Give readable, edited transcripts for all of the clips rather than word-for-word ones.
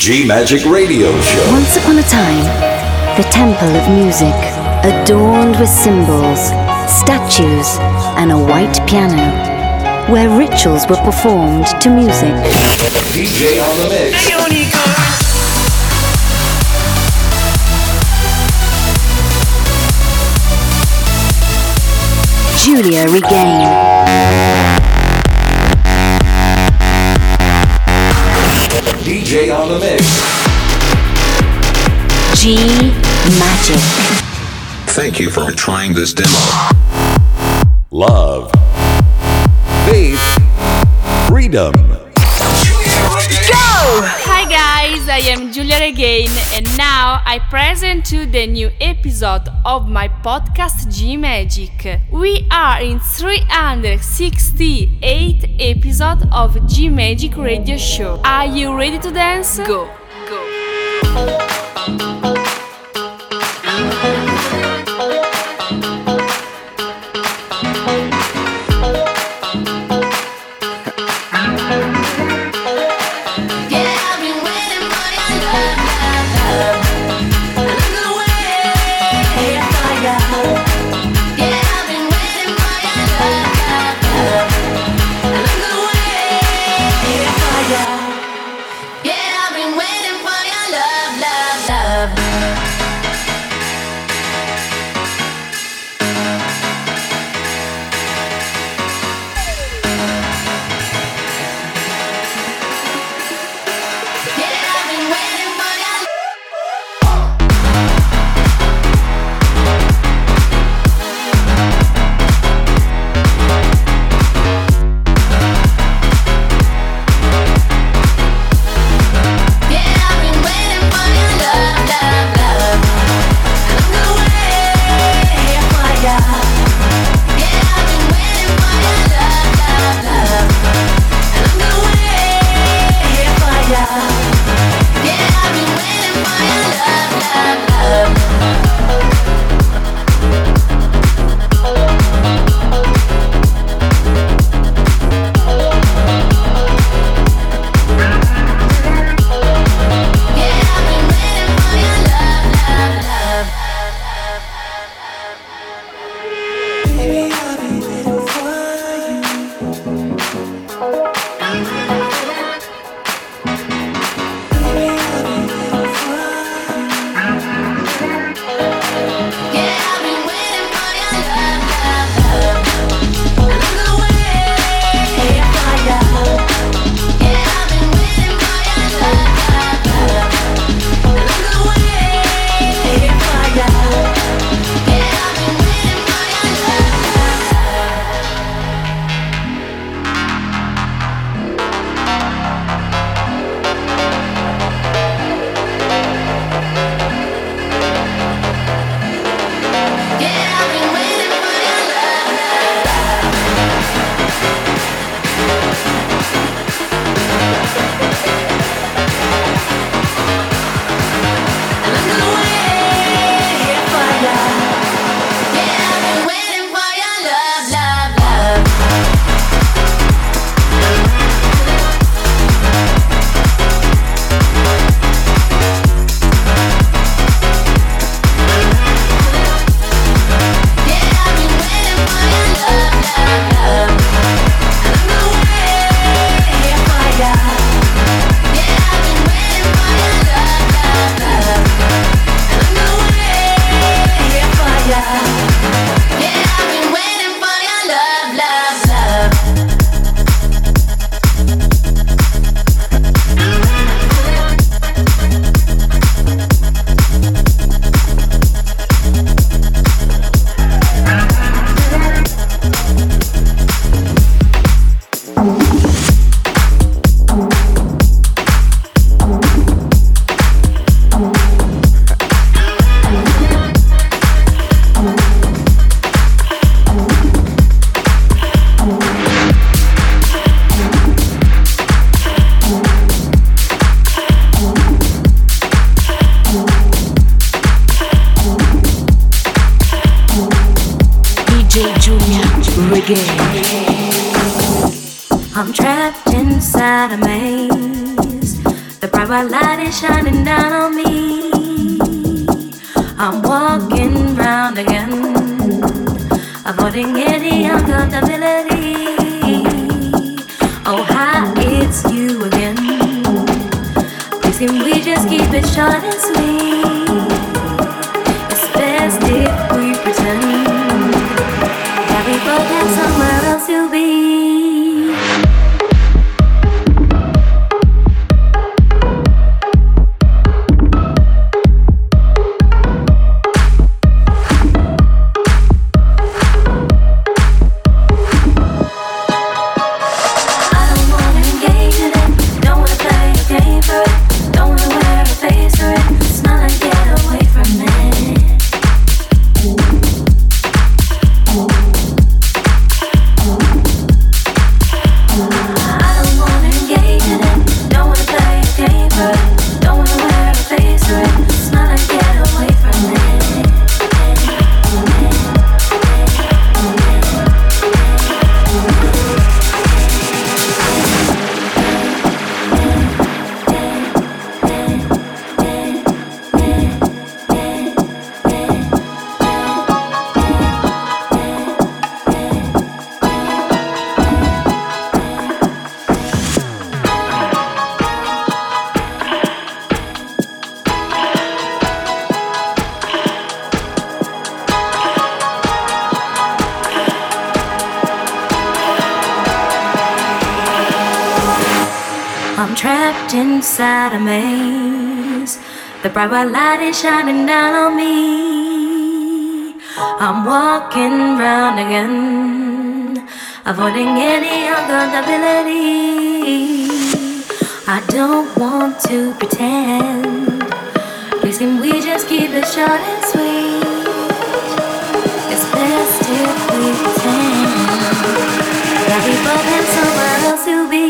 G-Magic Radio Show. Once upon a time, the temple of music, adorned with symbols, statues, and a white piano, where rituals were performed to music. DJ on the mix. Giulia Regain. DJ on the mix. G-Magic. Thank you for trying this demo. Love. Faith. Freedom. Hi guys, I am Giulia Regain and now I present to the new episode of my podcast G-Magic. We are in 368 episode of G-Magic Radio Show. Are you ready to dance? Go! I'm trapped inside a maze. The bright white light is shining down on me. I'm walking round again, avoiding any uncomfortability. Oh, hi, it's you again. Please can we just keep it short and sweet? It's best if we pretend that we both have somewhere else to be. Inside a maze, the bright white light is shining down on me. I'm walking round again, avoiding any uncomfortability. I don't want to pretend. Please can we just keep it short and sweet? It's best if we pretend that we both have somewhere else to be.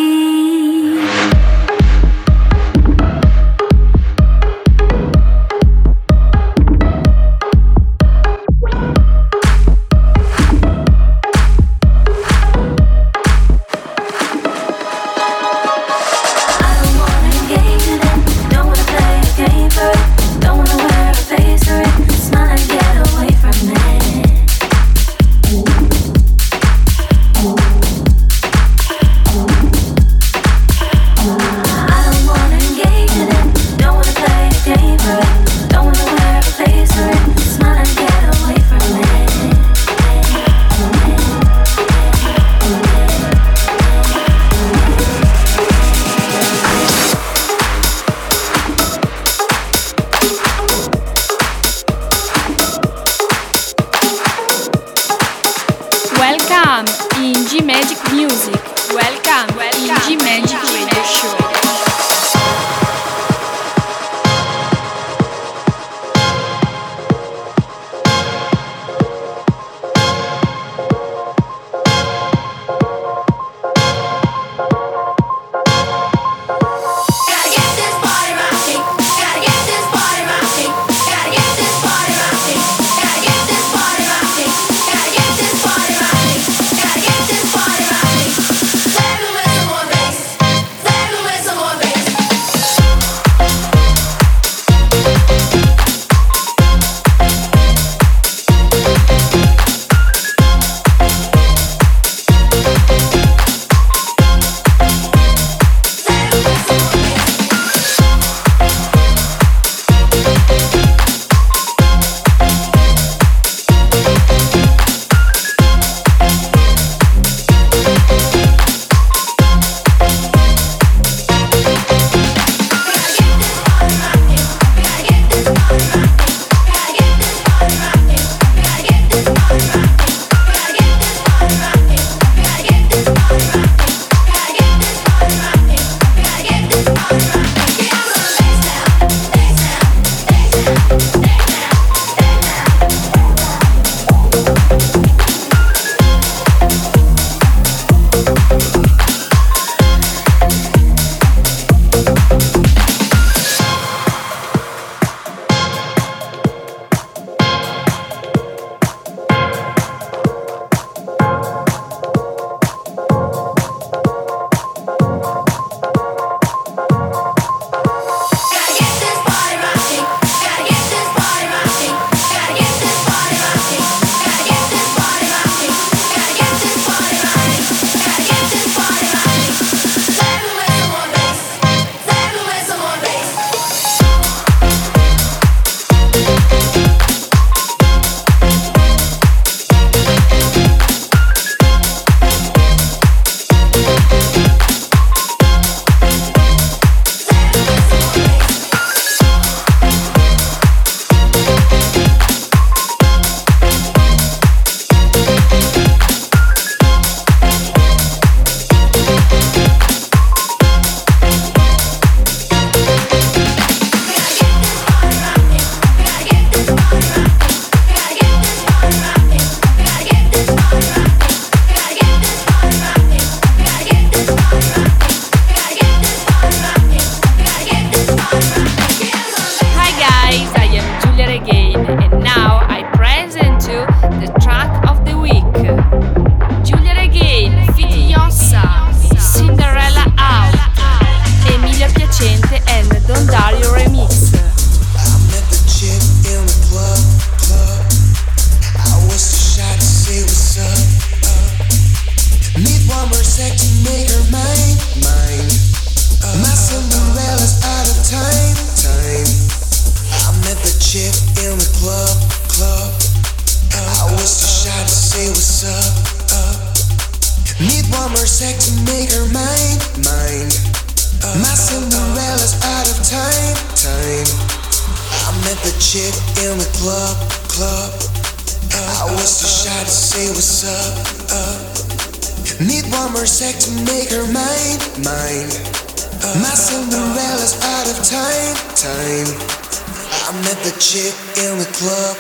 My Cinderella's out of time. I met the chick in the club. I was too shy to say what's up. Need one more sec to make her mine. My Cinderella's out of time. I met the chick in the club.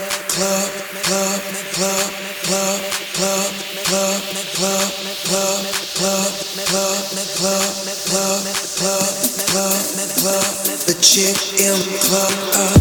The chick in the club.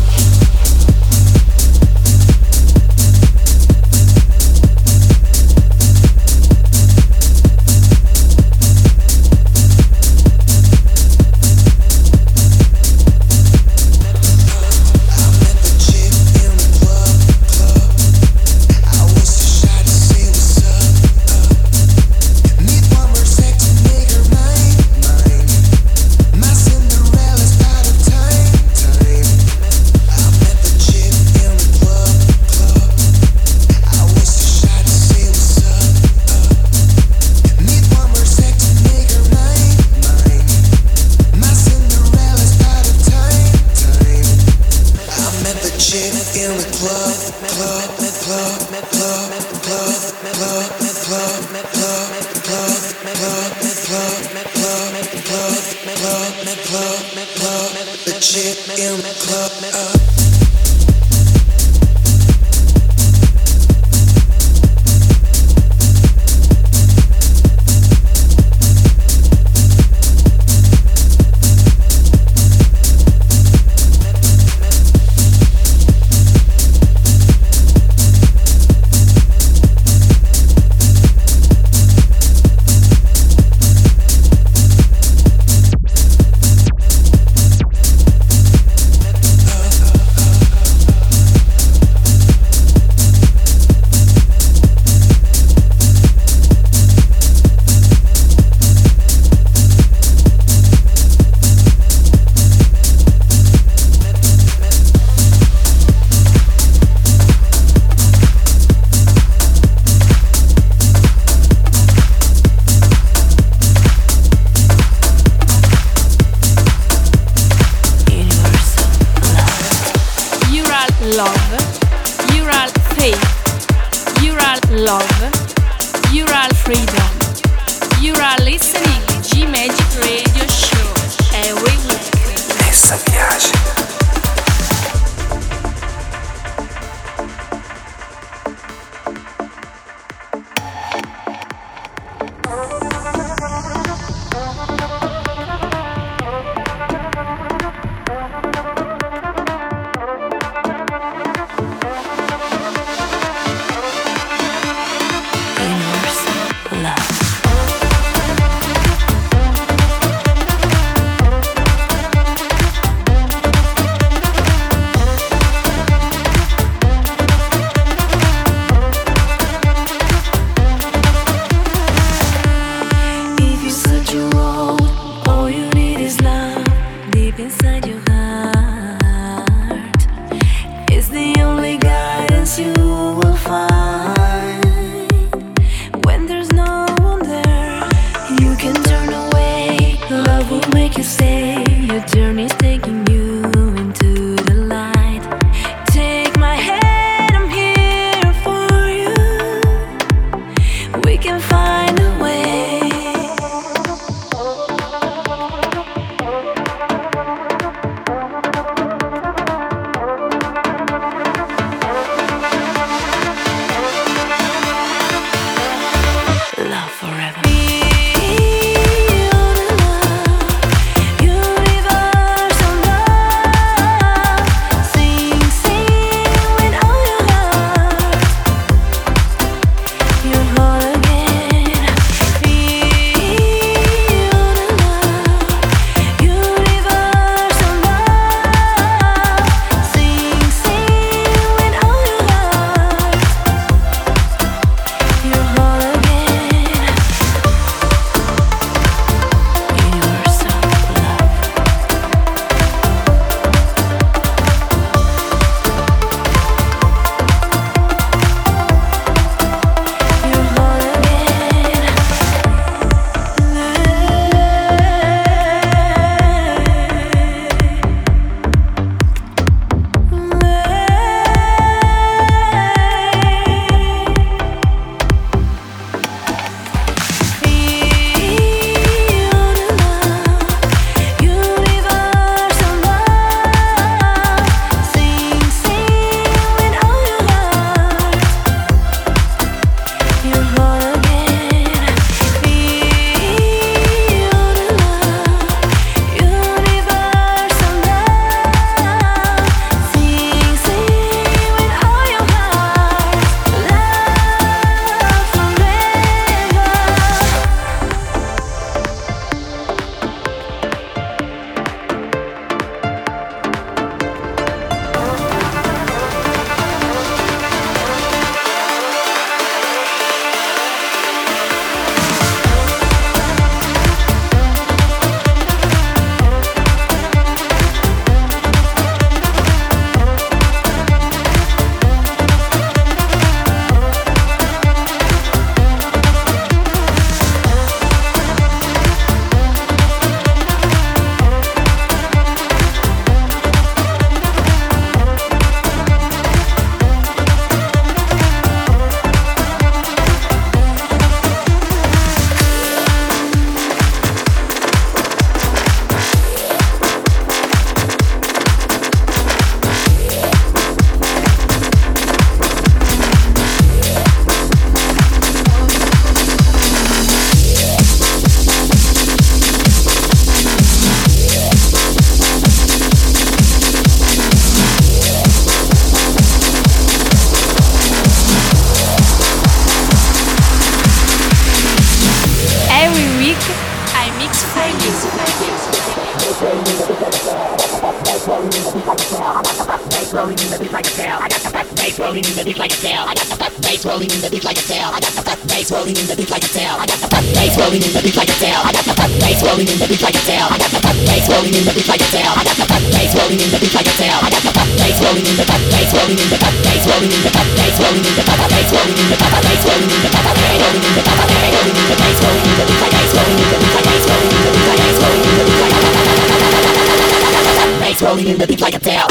The chick in the club. Universe mix for you. Bass rolling in the beat like a tail. I got the bass rolling in the beat like a tail. I got the bass rolling in the beat like a tail. I got the bass rolling in the beat like a tail. I got the bass rolling in the beat like a tail. I got the bass rolling in the beat like a tail. I got the bass rolling in the beat like a tail. I got the bass rolling in the beat like a tail. I got the bass rolling in the bass rolling in the bass rolling in the bass rolling in the bass rolling in the bass rolling in the bass rolling in the bass rolling in the bass rolling in the bass rolling in the bass rolling in the bass rolling in the bass rolling in the beat like a tail.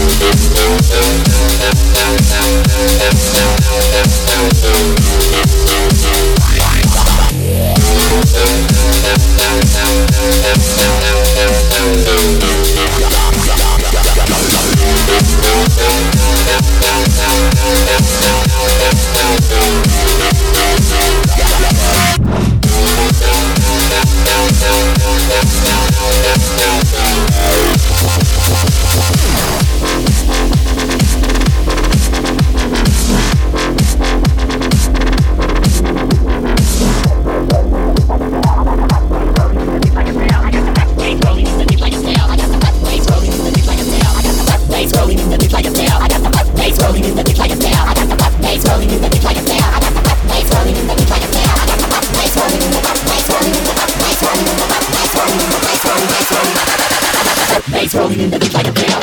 Bass rolling in the beat like a tail.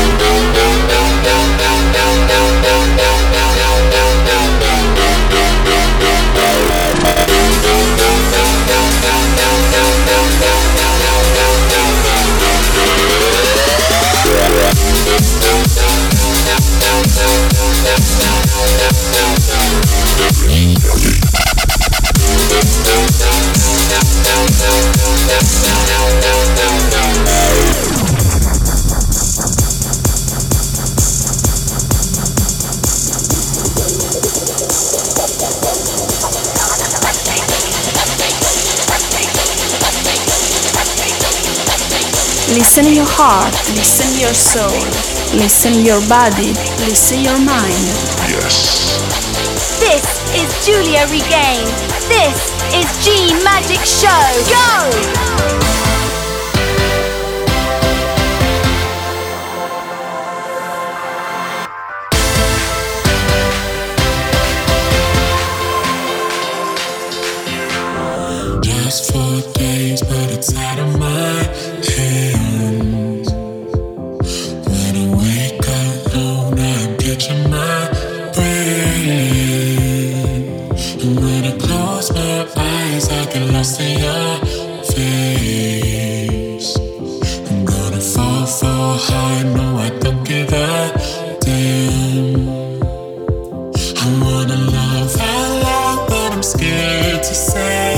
Listen your heart, listen your soul, listen your body, listen your mind. Yes. This is Julia Regain. This is G Magic Show. Go! Just 4 days, but it's out of my hands. When I wake up, I'm catching my breath. And when I close my eyes, I get lost in your face. I'm gonna fall hard, no, I don't give a damn. I wanna love out loud, but I'm scared to say.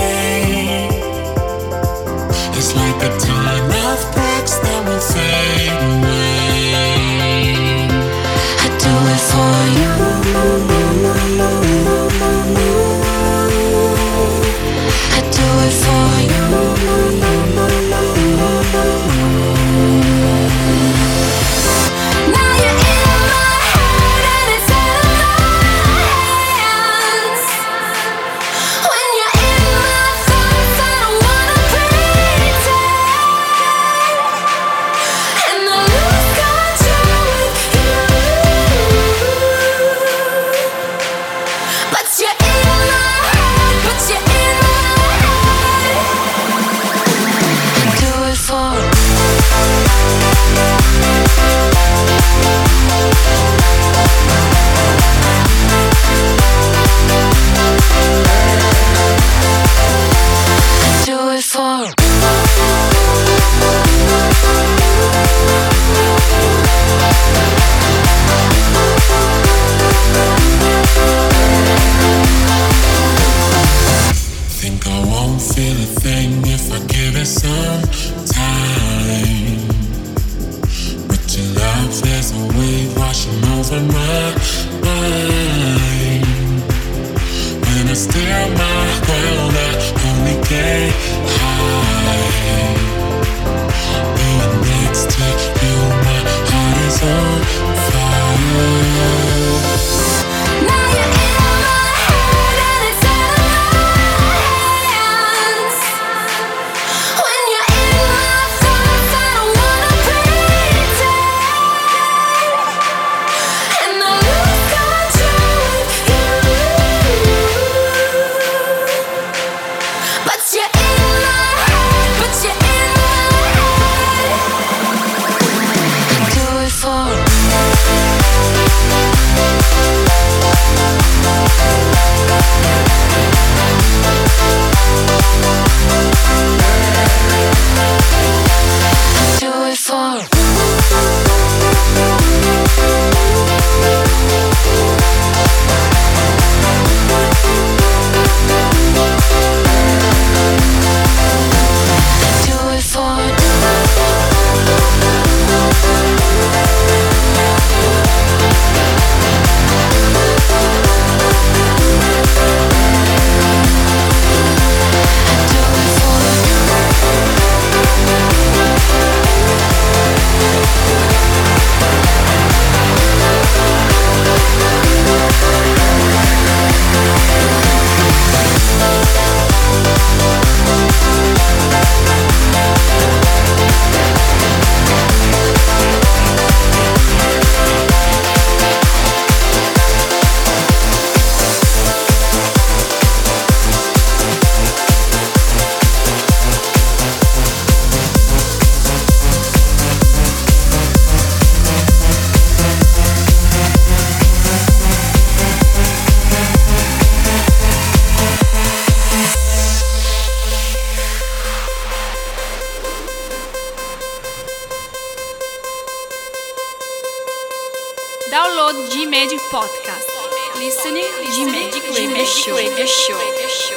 It's like a ton of bricks that will fade away. I do it for you. I do it for you. Now you're in my head and it's out of my hands. When you're in my thoughts, I don't wanna pretend. And I lose control with you. But you're in my head, but you're in my head. I do it for I do it for Think I won't feel a thing if I give it some time. But your love, there's a wave washing over my mind. When I steer my ground, I only get high. Being next to you, my heart is on fire. Now you're in my head and it's out of my hands. about G Magic Podcast. Listening G Magic Radio Show.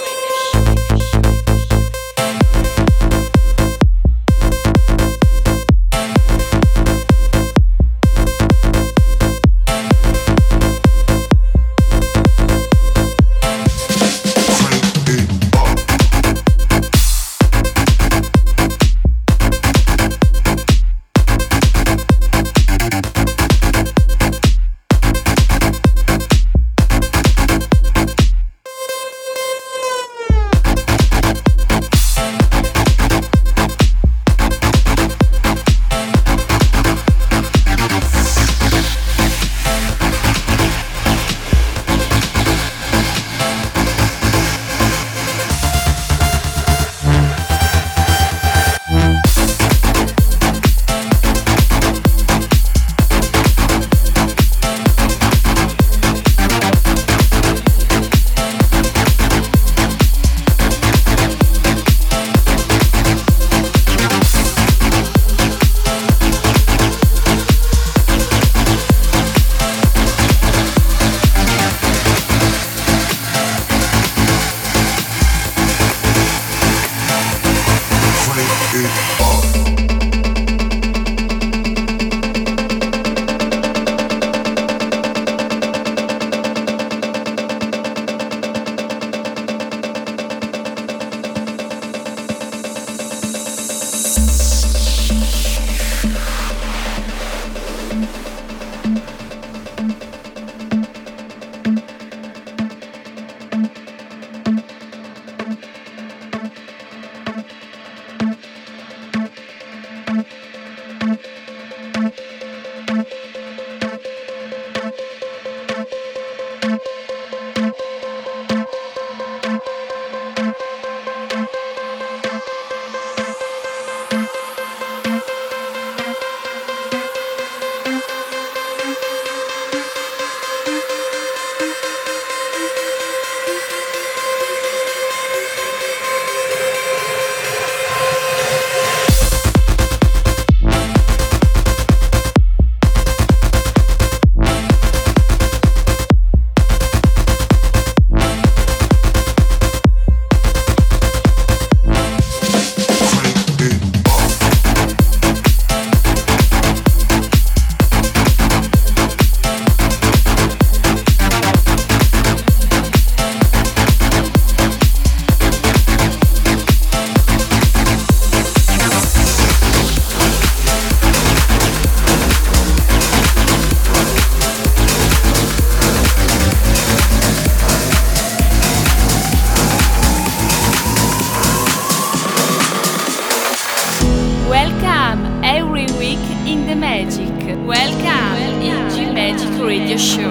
Welcome in G Magic Radio Show.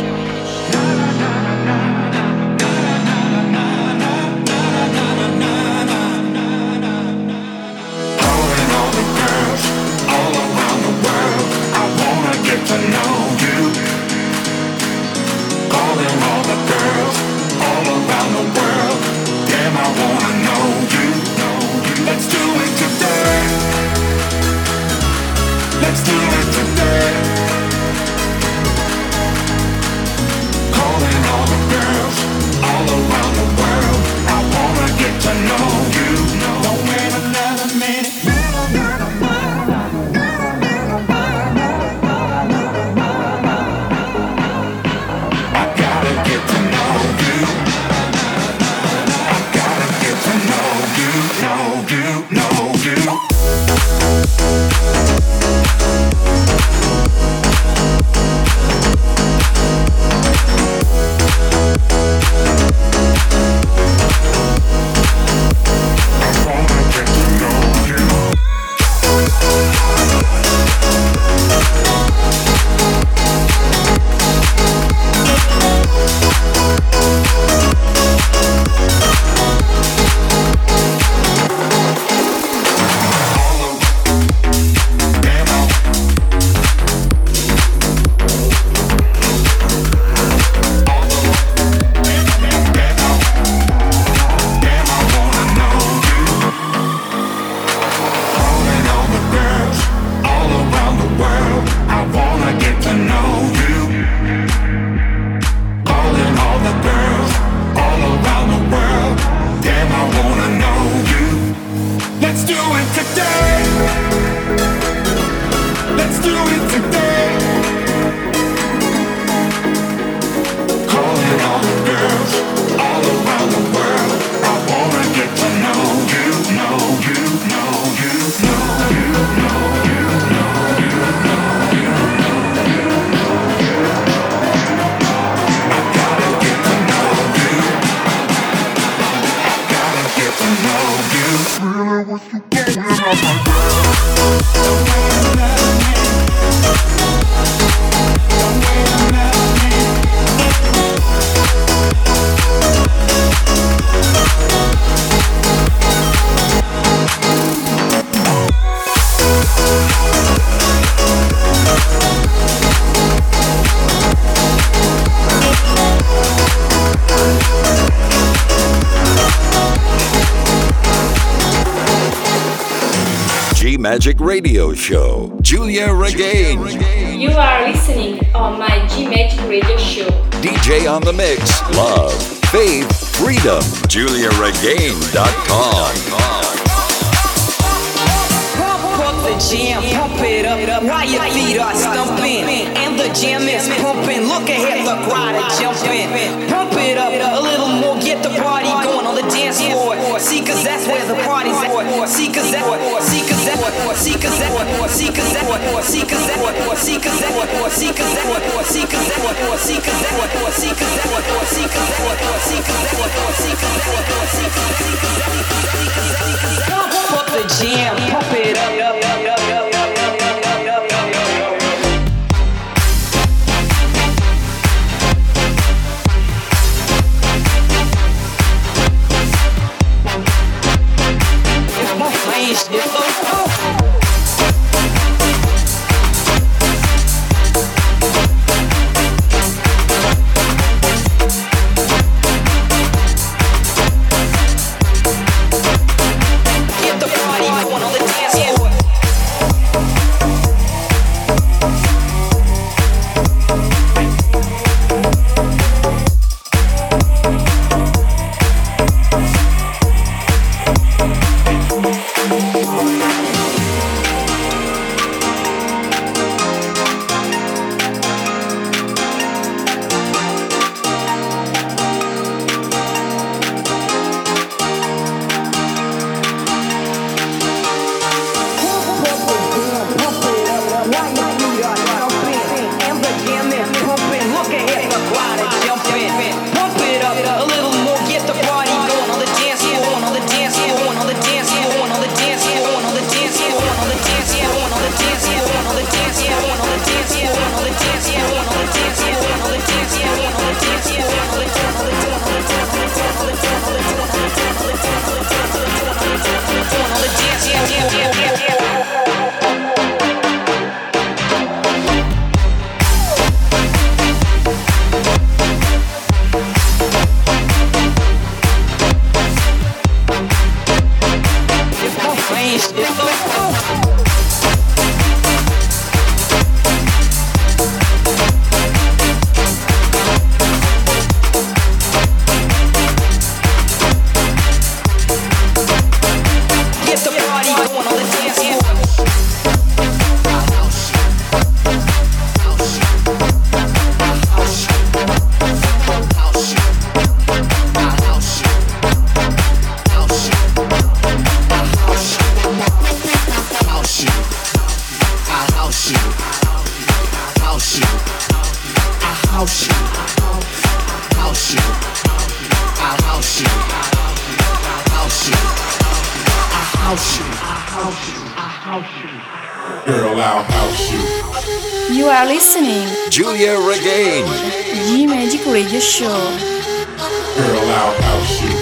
Let's do it today. Calling all the girls all around the world. I wanna get to know you. Don't wait another minute. I gotta get to know you. I gotta get to know you, know you. All it today. Let's do it today. Calling all the girls all around the world. I wanna get to know you, know you, know you, know you, know you, know you, know you, know you. I gotta get to know you. I gotta get to know you. Really, what you doing on my G-Magic Radio Show. Julia Regain. You are listening on my G-Magic Radio Show. DJ on the mix. Love, faith, freedom. JuliaRegain.com. The jam, pump it up while your feet are stumping, and the jam is pumping. Look ahead, the crowd are jumping. Pump it up a little more, get the party going on the dance floor. See, cause that's where the party's at. See, cause that, see, cause that, see, cause that, see, cause that, see, cause that, see, cause that, see, cause that, see, cause that, see, cause that, see, cause that, see, cause that, see, cause that, pump up the jam, pump it up. You are listening Julia Regain. G-Magic Radio Show. Girl, I'll house you.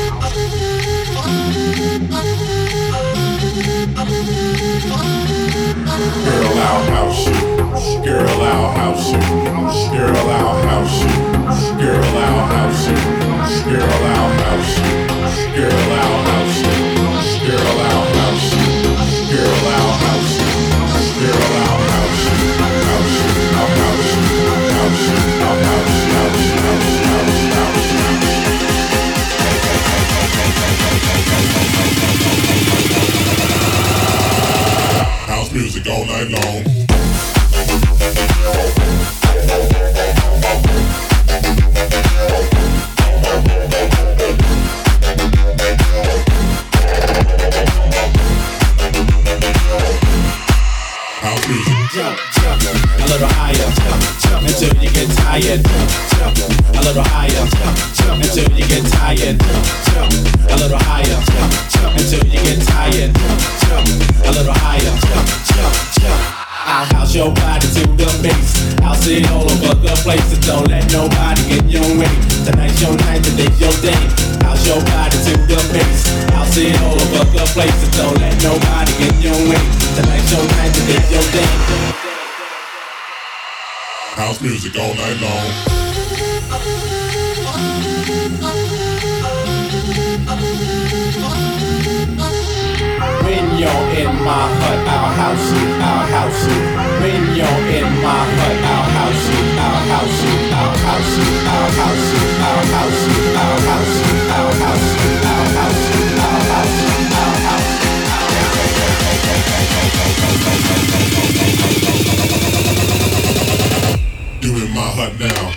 Girl, I'll house you. Girl, I'll house you. Girl, I'll house you. Girl, I'll house you. Girl, I'll house you. Girl, I'll house you. Girl, I'll house you. Girl, I'll house you. Girl, I'll house you. House you. I'll house you. House you. I'll house you. House you. House you. House you. House you. music all night long. House music. Jump, jump, a little higher, jump, until you get tired. Jump, a little higher, jump, until you get tired. Jump, a little higher, jump, until you get tired. Jump, a little higher, jump. I'll house your body to the bass. I'll sit all over the place, so don't let nobody get your way. Tonight's your night, today's your day. House your body to the bass. I'll sit all over the place, so don't let nobody get your way. Tonight's your night, today's your day. House music all night long. When you're in my hut, I'll house you, I'll house you. When you're in my hut, I'll house you, I'll house you, I'll house you, I'll house you, I'll house you, I'll house you, I'll house you, I'll house you, I'll house you, I'll house you. You in my hut now.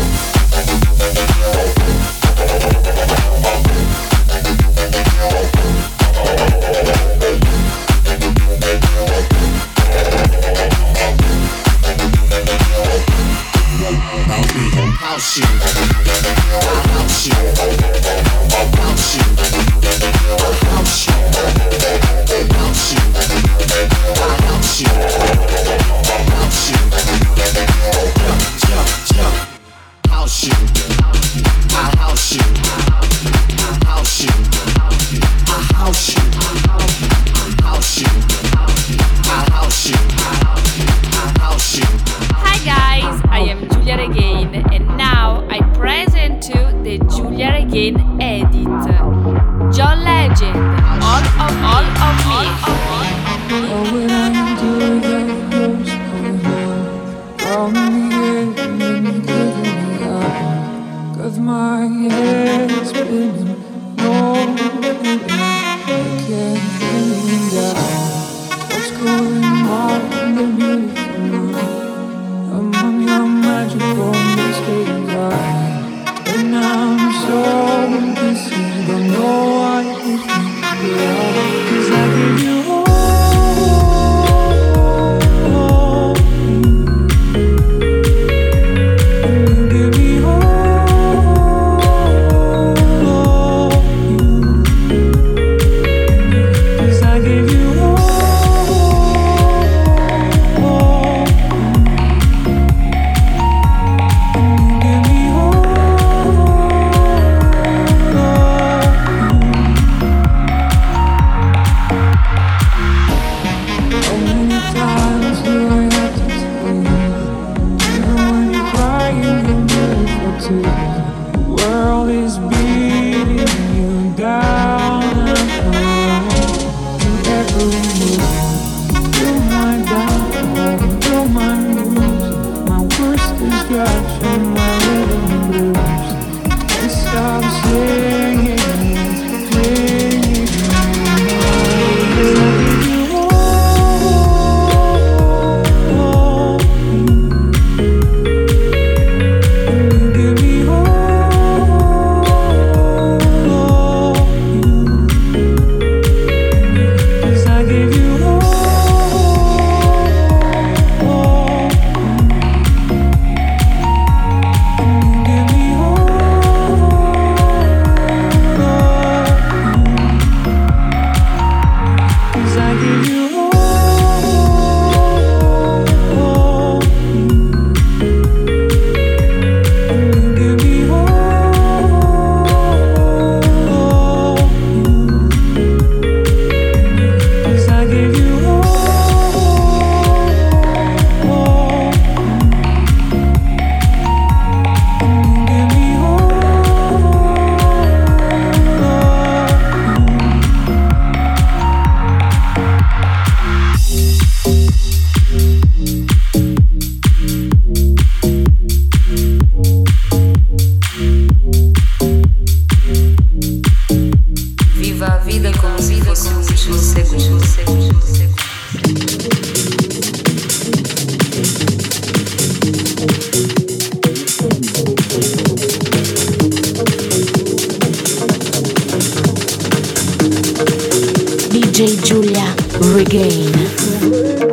House you, house you, house you, house you, house you, house you, house you, jump, jump, house you, I house you, house you, I house you, house you, I house you, I house you. Hi guys, I am Giulia Regain and now I present to the Giulia Regain edit. John Legend, all of me. What would I do without close from the end and me getting out? 'Cause my head's spinning, no, I can't think out what's going on in the beautiful night. Among your magical mistakes, and I'm so busy, don't know what you think about. 'Cause I give you all. I gave you Again.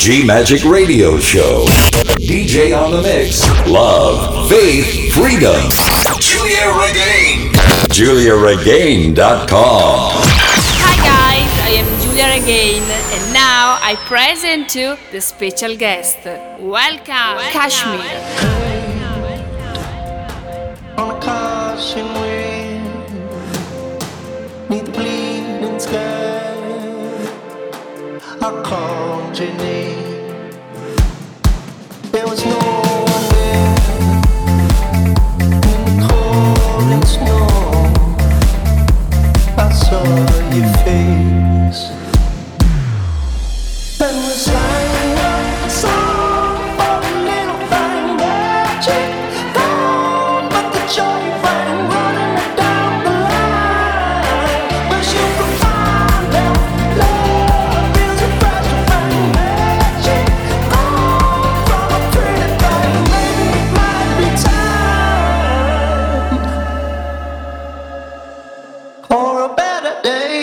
G Magic Radio Show. DJ on the mix. Love, faith, freedom. Julia Regain. JuliaRegain.com. Hi guys, I am Julia Regain and now I present to the special guest. Welcome. Kashmir. On a caution wind, neath the bleeding sky, I called your name. There was no one there in the cold and snow. I saw your face, and we sang a song for a little thing magic. Joy rang running down the line, but you can find out love is a fragile thing, magic. From a pretty thing, maybe it might be time for a better day.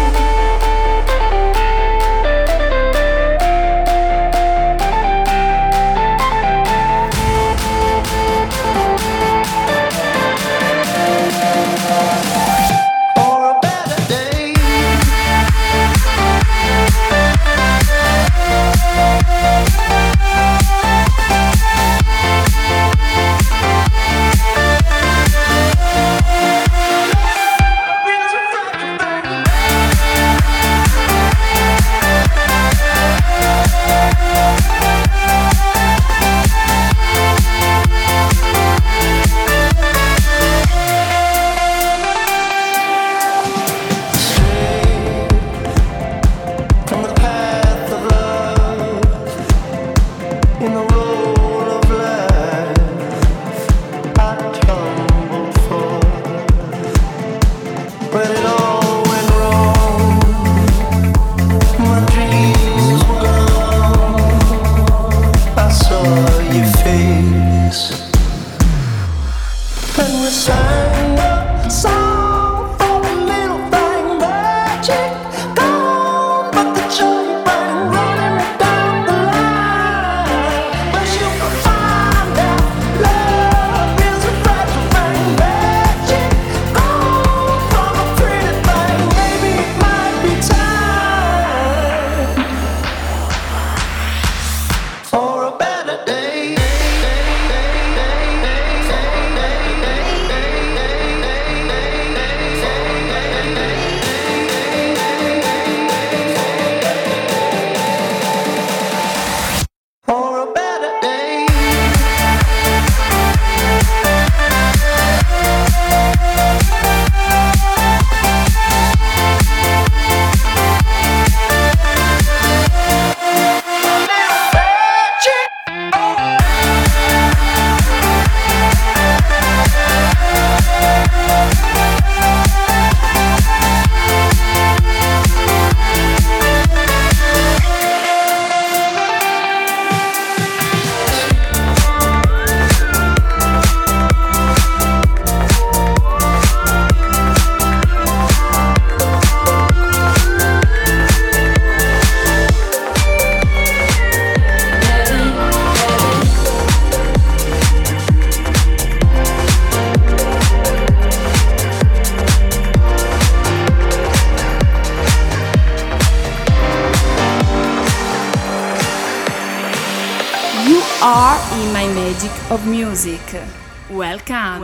Of music. Welcome.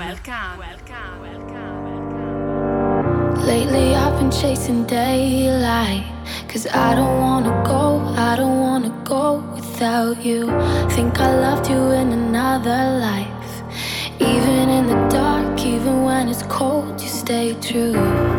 Lately I've been chasing daylight, 'cause I don't wanna go without you. Think I loved you in another life. Even in the dark, even when it's cold, you stay true.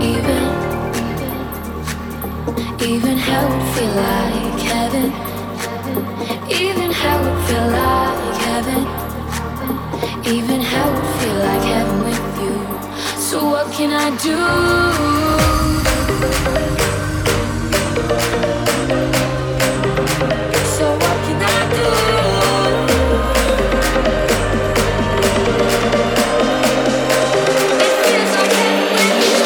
Even hell would feel like heaven. Even hell would feel like heaven. Even hell would feel like heaven with you. So what can I do? So what can I do? It feels like heaven with you.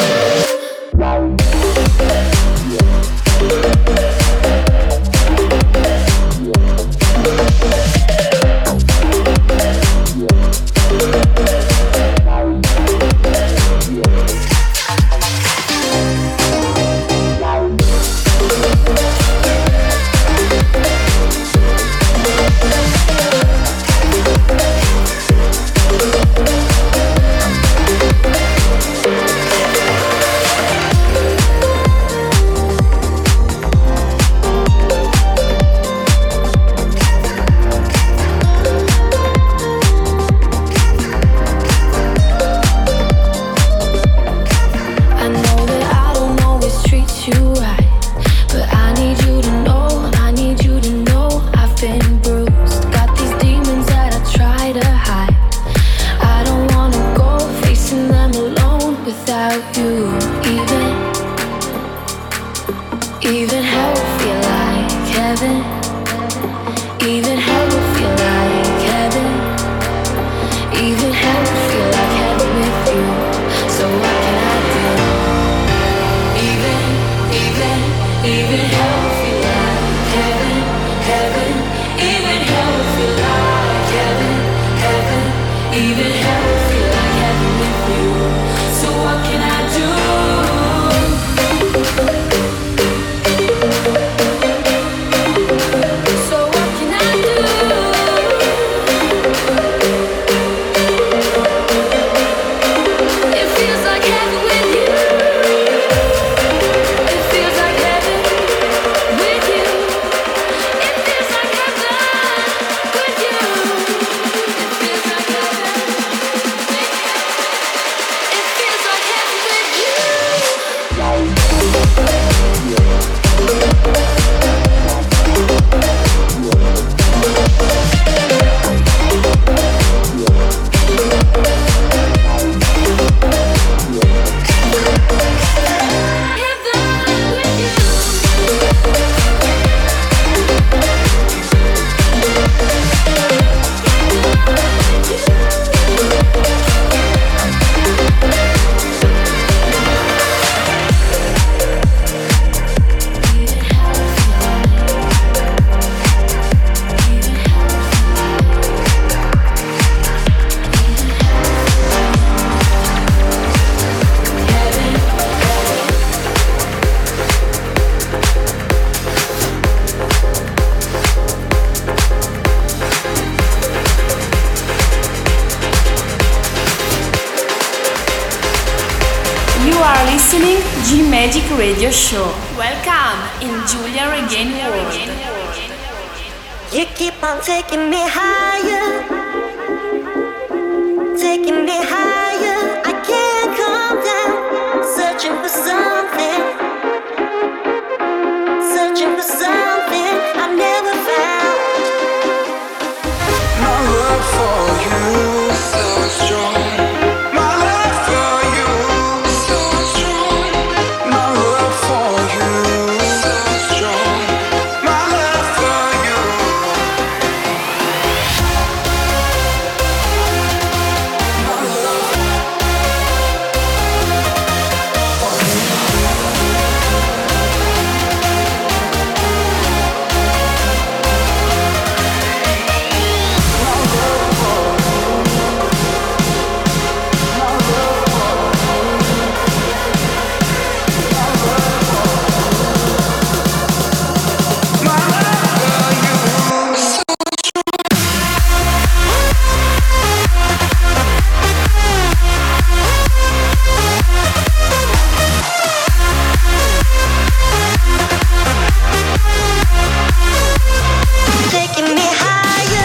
you. Even hell will feel like heaven. Even hell will feel like heaven. Even hell will feel like heaven with you. So what can I do? Even hell will feel like heaven, heaven. Even hell will feel like heaven, heaven. Even hell will feel like heaven with you. So what can I do? G-Magic Radio Show. Welcome in Giulia Regain World. You keep on taking me higher, taking me higher. I can't calm down, searching for something, searching for something I never found. My love for you is so strong. My love for you is so strong. My love for you is so strong. My love for you. My love for you. Taking me higher.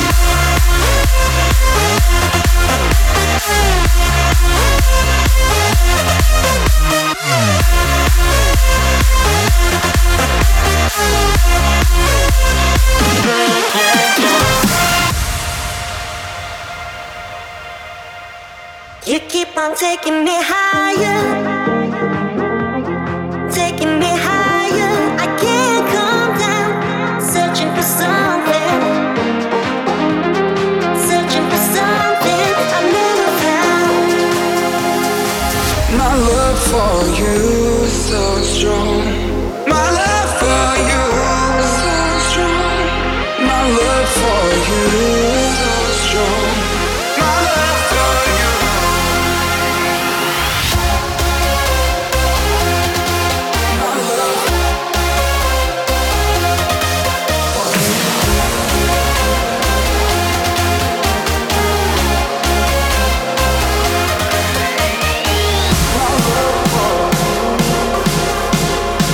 You keep on taking me higher, taking me higher. I can't calm down, searching for something, searching for something I never found. My love for you is so strong. My love for you is so strong. My love for you is so strong. My love for you. My love for you. My love for you.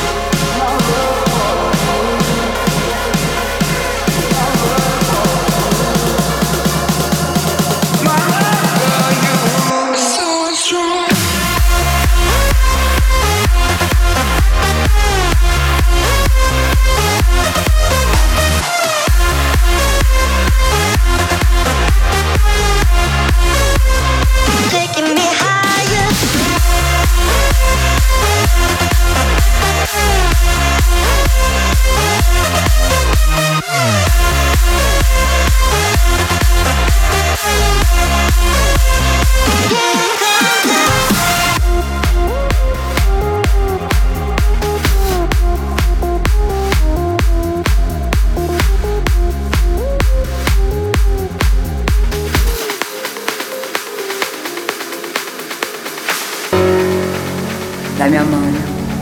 la mia mano.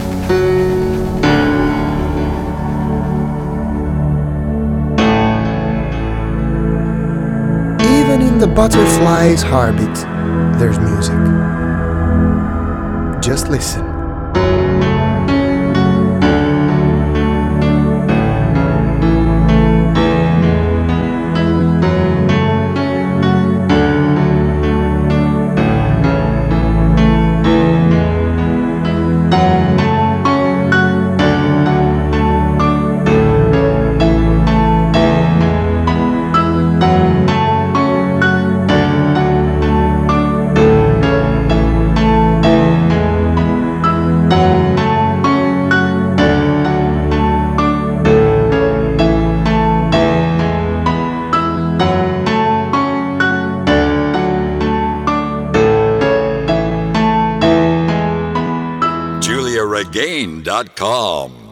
Even in the butterfly's heartbeat, there's music. Just listen. JuliaRegain.com